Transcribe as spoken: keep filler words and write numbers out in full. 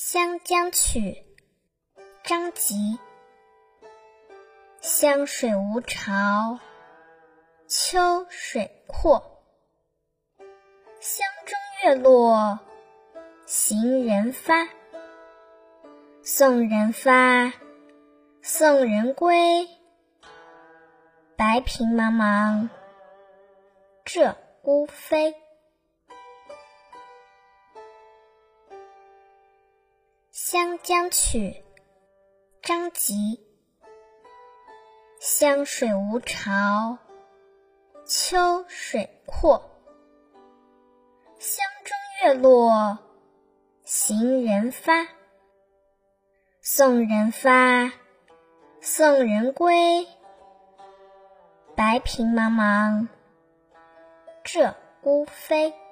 湘江曲·张籍。湘水无潮，秋水阔。湘中月落，行人发。送人发，送人归。白萍茫茫，这乌飞。湘江曲·张籍。湘水无潮，秋水阔。湘中月落，行人发。送人发，送人归。白萍茫茫，这乌飞。